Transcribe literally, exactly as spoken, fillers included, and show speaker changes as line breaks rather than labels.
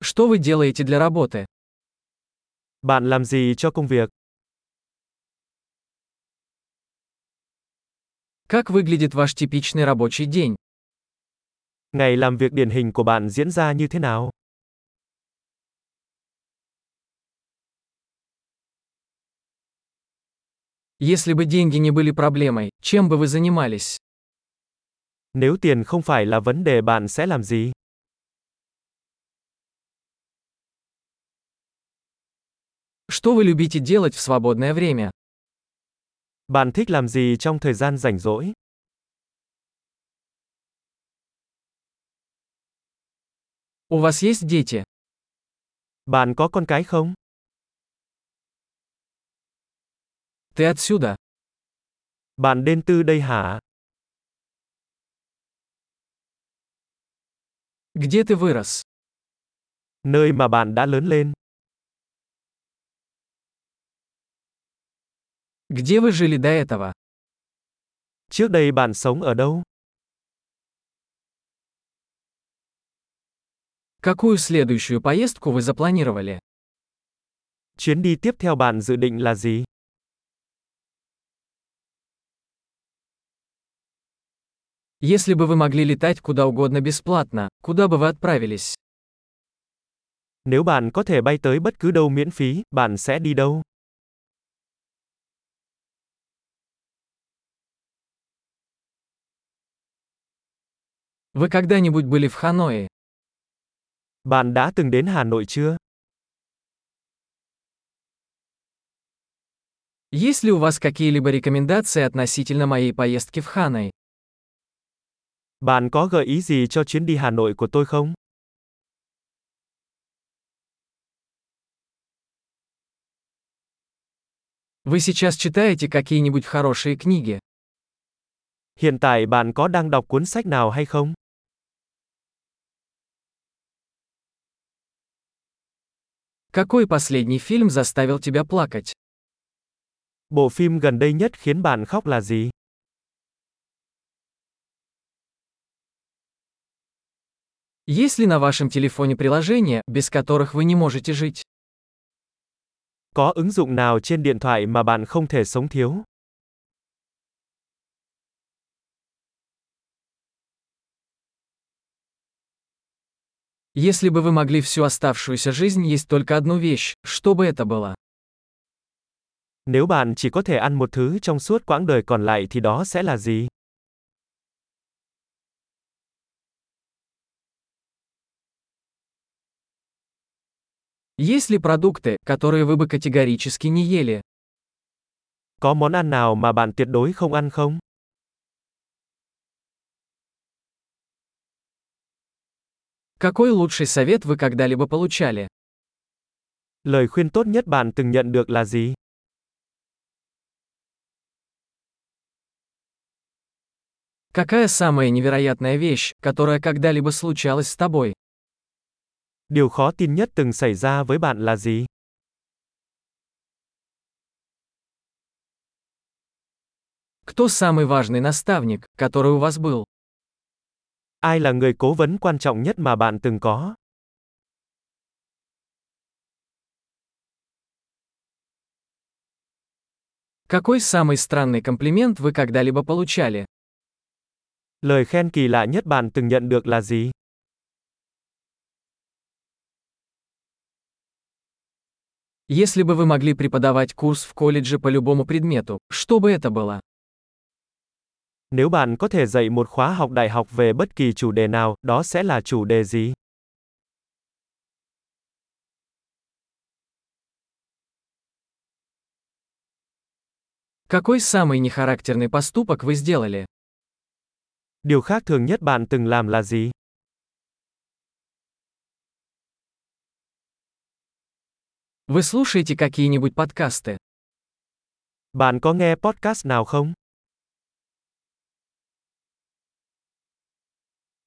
Что вы делаете для работы?
Bạn làm gì cho công việc?
Как выглядит ваш типичный рабочий день?
Ngày làm việc điển hình của bạn diễn ra như thế nào?
Если бы деньги не были проблемой, чем бы вы занимались?
Nếu tiền không phải là vấn đề bạn sẽ làm gì?
Что вы любите делать в свободное время?
Bạn thích làm gì trong thời gian rảnh rỗi?
У вас есть дети?
Bạn có con cái không?
Ты отсюда?
Bạn đến từ đây hả?
Где ты вырос?
Nơi mà bạn đã lớn lên.
Где вы жили до этого?
Trước đây bạn sống ở đâu?
Какую следующую поездку вы запланировали?
Chuyến đi tiếp theo bạn dự định là gì?
Если бы вы могли летать куда угодно бесплатно, куда бы вы отправились?
Nếu bạn có thể bay tới bất cứ đâu miễn phí, bạn sẽ đi đâu?
Вы когда-нибудь были в Ханое?
Bạn đã từng đến Hà Nội chưa?
Есть ли у вас какие-либо рекомендации относительно моей поездки в Ханой?
Bạn có gợi ý gì cho chuyến đi Hà Nội của tôi không?
Вы сейчас читаете какие-нибудь хорошие книги?
Hiện tại bạn có đang đọc cuốn sách nào hay không?
Какой последний фильм заставил тебя плакать?
Bộ phim gần đây nhất khiến bạn khóc là gì?
Есть ли на вашем телефоне приложения, без которых вы не можете жить?
Có ứng dụng nào trên điện thoại mà bạn không thể sống thiếu?
Если бы вы могли всю оставшуюся жизнь есть только одну вещь, что бы это было?
Nếu bạn chỉ có thể ăn một thứ trong suốt quãng đời còn lại thì đó sẽ là gì?
Есть ли продукты, которые вы бы категорически не ели?
Có món ăn nào mà bạn tuyệt đối không ăn không?
Какой лучший совет вы когда-либо получали?
Lời khuyên tốt nhất bạn từng nhận được là gì?
Какая самая невероятная вещь, которая когда-либо случалась с тобой?
Điều khó tin nhất từng xảy ra với bạn là gì?
Кто самый важный наставник, который у вас был?
Ai là người cố vấn quan trọng nhất mà bạn từng có?
Какой самый странный комплимент вы когда-либо получали?
Lời khen kỳ lạ nhất bạn từng nhận được là gì?
Если бы вы могли преподавать курс в колледже по любому предмету, что бы это было?
Nếu bạn có thể dạy một khóa học đại học về bất kỳ chủ đề nào, đó sẽ là chủ đề gì?
Какой самый нехарактерный поступок вы сделали?
Điều khác thường nhất bạn từng làm là gì?
Вы слушаете какие-нибудь подкасты?
Bạn có nghe podcast nào không?